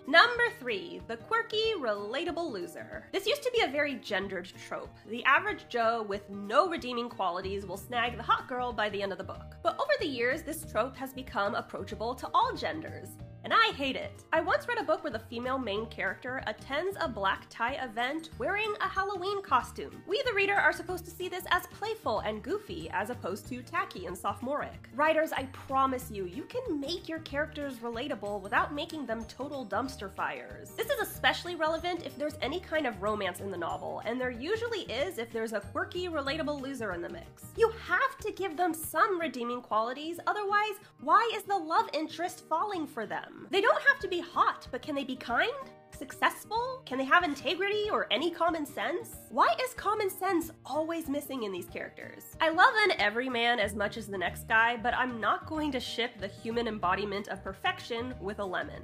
Number 3, the quirky, relatable loser. This used to be a very gendered trope. The average Joe with no redeeming qualities will snag the hot girl by the end of the book. But over the years, this trope has become approachable to all genders. And I hate it. I once read a book where the female main character attends a black tie event wearing a Halloween costume. We, the reader, are supposed to see this as playful and goofy, as opposed to tacky and sophomoric. Writers, I promise you, you can make your characters relatable without making them total dumpster fires. This is especially relevant if there's any kind of romance in the novel, and there usually is if there's a quirky, relatable loser in the mix. You have to give them some redeeming qualities, otherwise, why is the love interest falling for them? They don't have to be hot, but can they be kind? Successful? Can they have integrity or any common sense? Why is common sense always missing in these characters? I love an everyman as much as the next guy, but I'm not going to ship the human embodiment of perfection with a lemon.